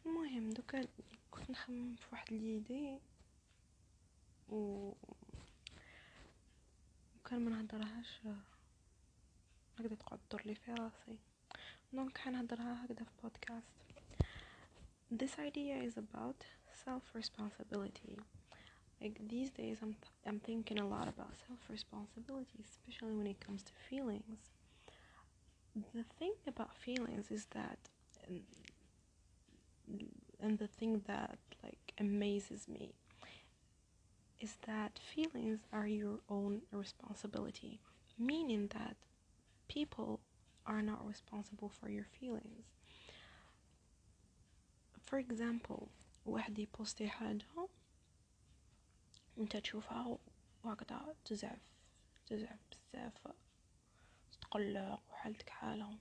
المهم دوكا كنت نخمم في واحد ليدي و وكان ما نهضرهاش هكذا تقعد تدور لي في راسي، دونك حنهضرها هكذا في بودكاست. This idea is about self-responsibility. Like these days I'm thinking a lot about self-responsibility, especially when it comes to feelings. The thing about feelings is that and the thing that like amazes me is that feelings are your own responsibility, meaning that people are not responsible for your feelings. For example, واحد يبوستي حاجة وانت تشوفها وهكذا تزعف بزاف، تقلق وحالتك حالة.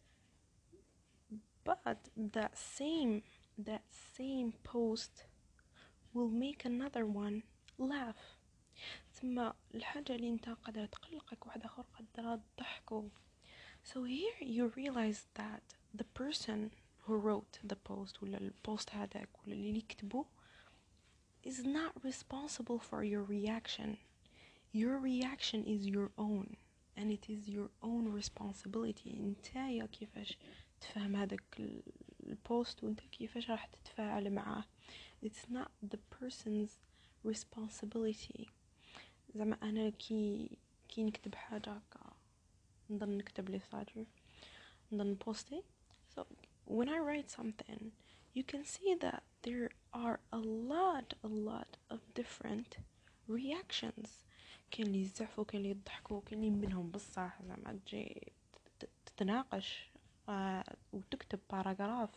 But that same post will make another one laugh. ثم الحاجة اللي انت قادرة تقلقك واحد آخر قادرة تضحكو. So here you realize that the person who wrote the post ولا البوست هذاك ولا اللي يكتبه is not responsible for your reaction. Your reaction is your own and it is your own responsibility. انتايا كيفاش تفهم هذاك البوست وانت كيفاش راح تتفاعل معاه. It's not the person's responsibility. زعما انا كي نكتب حاجه هكا نضل نكتب لي ساتر نضل نبوستي. So when I write something you can see that there are a lot of different reactions. كاين اللي يزعفوا، كاين اللي يضحكوا، كاين اللي منهم بصح زعما تجي تتناقش وتكتب باراجراف.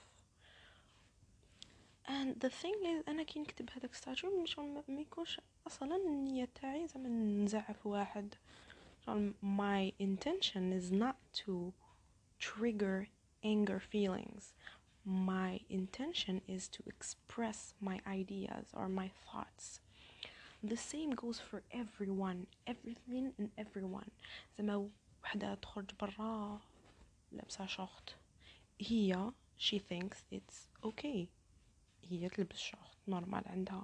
and the thing is انا كي نكتب هذاك ستاتيو مش ما يكونش اصلا النيه تاعي زعما نزعف واحد. my intention is not to trigger anger feelings. My intention is to express my ideas or my thoughts. The same goes for everyone, everything and everyone. زعما وحده تخرج برا لابسه شورت، هي she thinks it's okay، هي تلبس شورت نورمال عندها.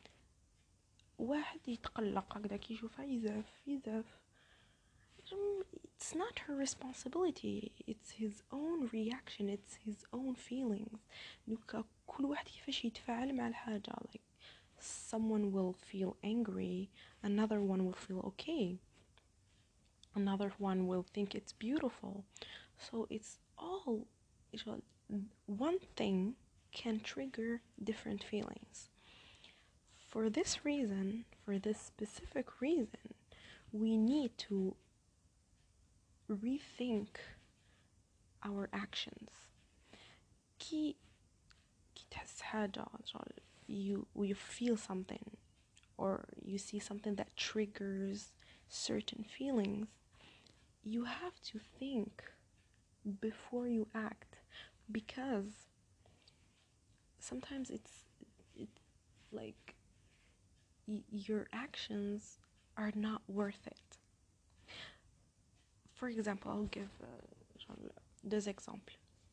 واحد يتقلق هكذا كي يشوفها يزعف. It's not her responsibility, it's his own reaction, it's his own feelings. كل واحد كيفاش يتفاعل مع الحاجة. like someone will feel angry, another one will feel okay, another one will think it's beautiful. So it's all one thing can trigger different feelings. For this reason, for this specific reason, we need to rethink our actions. كي تحس حاجة you feel something or you see something that triggers certain feelings, you have to think before you act, because sometimes it's like your actions are not worth it. For example, I'll give deux exemples.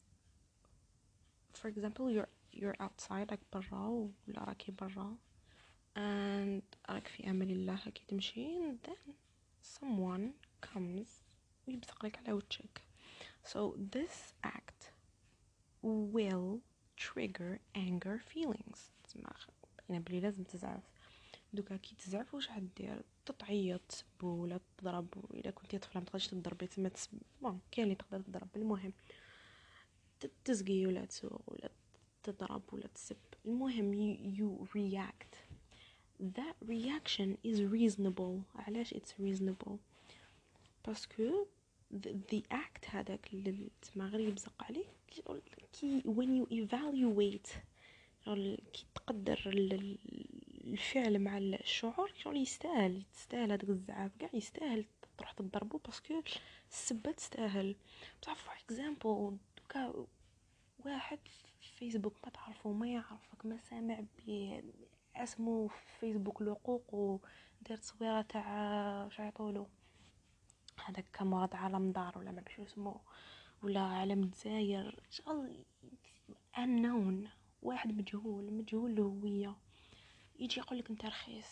For example, you're outside like برا ولا راكي برا and راك في أمان الله هكي تمشي and then someone comes ويبصق لك على وجهك. So this act will trigger anger feelings. يعني بلي لازم تزعف. دوكا كي تزعف واش حدير؟ تتعيط، تسبو ولا تضرب. الا كنتي طفله ما تقدرش تضربي تما تسب، بون كاين اللي تقدر تضرب. المهم تزقي ولا تسوق ولا تضرب ولا تسب. المهم you react. That reaction is reasonable. علاش it's reasonable؟ باسكو the act هذاك اللي تما غير يبزق عليك كي when you evaluate كي تقدر الفعل مع الشعور يستاهل هذاك الزعاف كاع يستاهل تروح تضربه باسكو السبه تستاهل. بصح فور اكزامبل دوكا واحد في فيسبوك ما تعرفه ما يعرفك ما سامع به اسمه في فيسبوك لقوق ودير تصويره تاع شعيطولو هذاك مرض عالم دار ولا ما بشو اسمه ولا علم دزاير شغل unknown واحد مجهول الهوية يجي يقولك انت رخيص،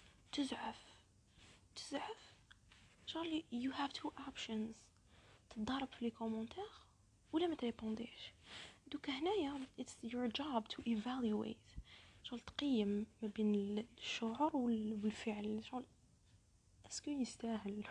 تزعف شغل. you have two options: تضارب في لي كومنتير ولا ما تريبونديش. دوك هنايا it's your job to evaluate، شغل تقيم ما بين الشعور والفعل، شغل اسكو يستاهل.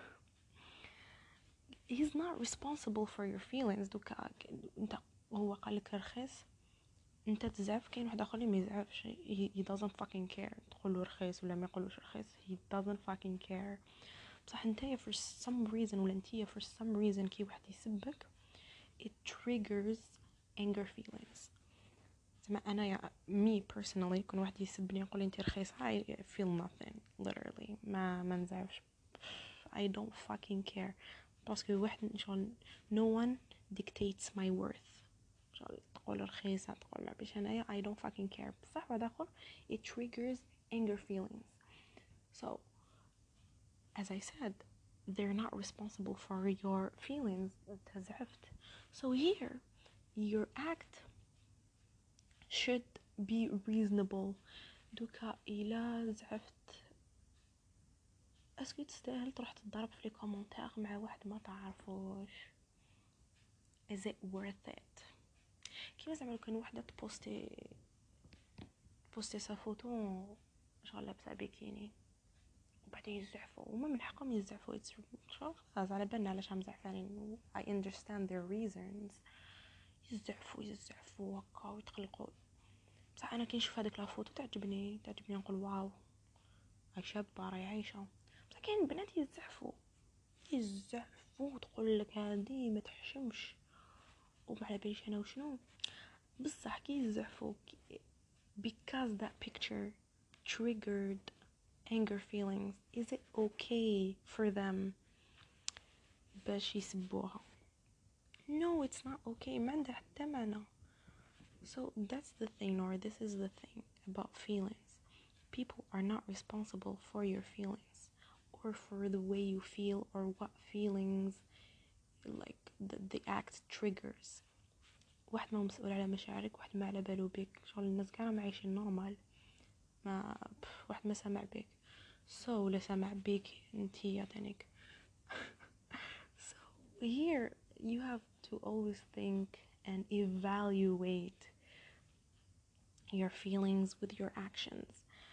he's not responsible for your feelings. دوكا انت هو قالك رخيص انت تزعف، كاين واحد اخر اللي ما يزعفش، he doesn't fucking care تقولوا رخيص ولا ما يقولوش رخيص، he doesn't fucking care. بصح نتايا for some reason ولا نتيا for some reason كي واحد يسبك it triggers anger feelings. زعما انا يا me personally كون واحد يسبني يقول لي انت رخيصه I feel nothing literally، ما نزعفش. I don't fucking care باسكو واحد شغل no one dictates my worth. شغل تقول رخيصه تقول ما بيش انايا I don't fucking care. بصح واحد اخر it triggers anger feelings. So as I said, they're not responsible for your feelings. تزعفت. So here your act should be reasonable. دوكا إلا زعفت اسكو تستاهل تروح تضرب في لي كومونتير مع واحد ما تعرفوش؟ is it worth it؟ كيما زعما لو كان وحده تبوستي سا فوتو شغل لابسه بيكيني وبعدين يزعفوا، وما من حقهم يزعفوا، شغل خلاص على بالنا علاش هم زعفانين. I understand their reasons. يزعفوا هكا ويتقلقوا. بصح انا كي نشوف هذيك لا فوتو تعجبني نقول واو هاي شابه راهي عايشه. بصح كاين بنات يزعفوا وتقول لك هذه ما تحشمش وما على باليش انا وشنو. بصح كي يزعفوا because that picture triggered anger feelings, is it okay for them باش يسبوها؟ No, it's not okay. ما عنده حتى معنى. So that's the thing, or this is the thing about feelings. People are not responsible for your feelings or for the way you feel or what feelings like the act triggers. واحد ما مسؤول على مشاعرك، واحد ما على باله بك، شغل الناس كاع ما عايشين نورمال، ما واحد ما سامع بك. So لا سامع بك انتي تانيك. So here you have to always think and evaluate your feelings with your actions.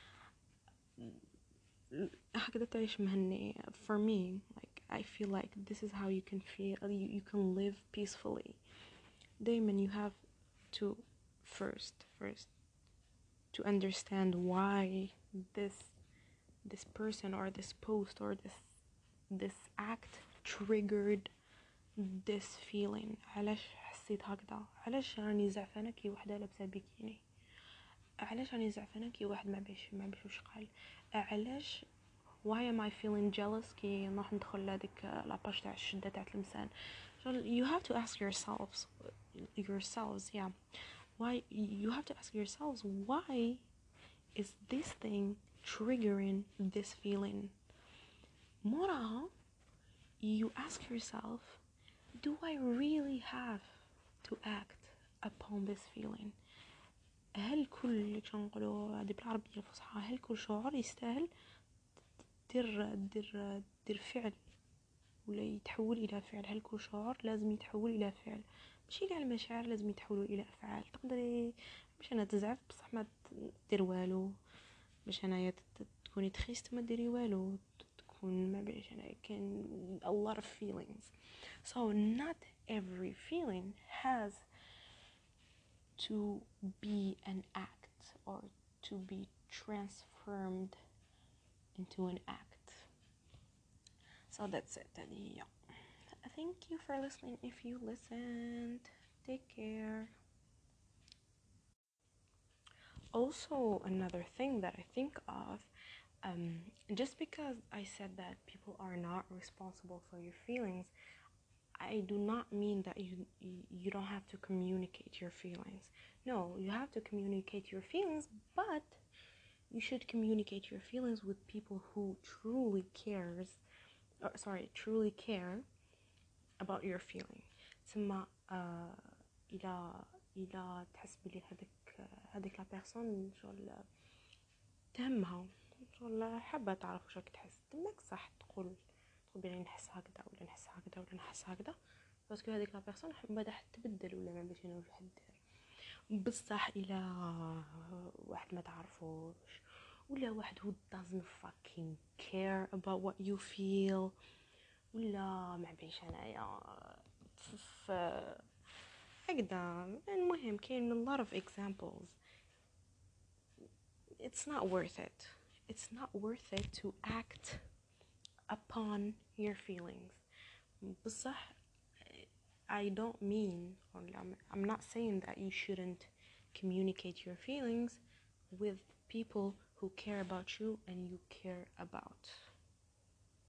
هكذا تعيش مهني. For me, like I feel like this is how you can feel, you can live peacefully. دايما you have to first to understand why this person or this post or this act triggered this feeling. علاش حسيت هكذا؟ علاش راني زعفانه كي وحده لابسه بيكيني؟ علاش راني زعفانه كي واحد ما بيش وش قال؟ علاش why am I feeling jealous كي نروح ندخل لهاديك لاباج تاع الشده تاع المسان؟ you have to ask yourselves yeah, why you have to ask yourselves, why is this thing triggering this feeling? moraها you ask yourself, do I really have to act upon this feeling? هل كل نقولوا هذه بالعربيه الفصحى، هل كل شعور يستاهل دير فعل ولا يتحول الى فعل؟ هل كل شعور لازم يتحول الى فعل؟ ماشي كاع المشاعر لازم يتحولوا الى افعال. تقدري باش انا تزعف بصح ما دير والو، باش انايا تكوني تخيست ما ديري والو، تكون ما بيش انا كان a lot of feelings. So not every feeling has to be an act or to be transformed into an act. So that's it. Yeah. Thank you for listening. If you listened, take care. Also, another thing that I think of, just because I said that people are not responsible for your feelings, I do not mean that you don't have to communicate your feelings. No, you have to communicate your feelings, but you should communicate your feelings with people who truly care about your feeling. ثم إلى الا تحس بلي هذيك لا بيرسون شغل تهمها، شغل حابه تعرف واش راك تحس، تماك صح تقول بلي نحس هكذا ولا نحس هكذا ولا نحس هكذا، باسكو هذيك لا بيرسون بعدا تبدل ولا ما باش شنو راح دير. بصح الى واحد ما تعرفوش ولا واحد who doesn't fucking care about what you feel، ولا ما بعيش انايا هكذا. المهم كاين a lot of examples. It's not worth it. It's not worth it to act upon your feelings. بصح I don't mean, or I'm not saying that you shouldn't communicate your feelings with people who care about you and you care about.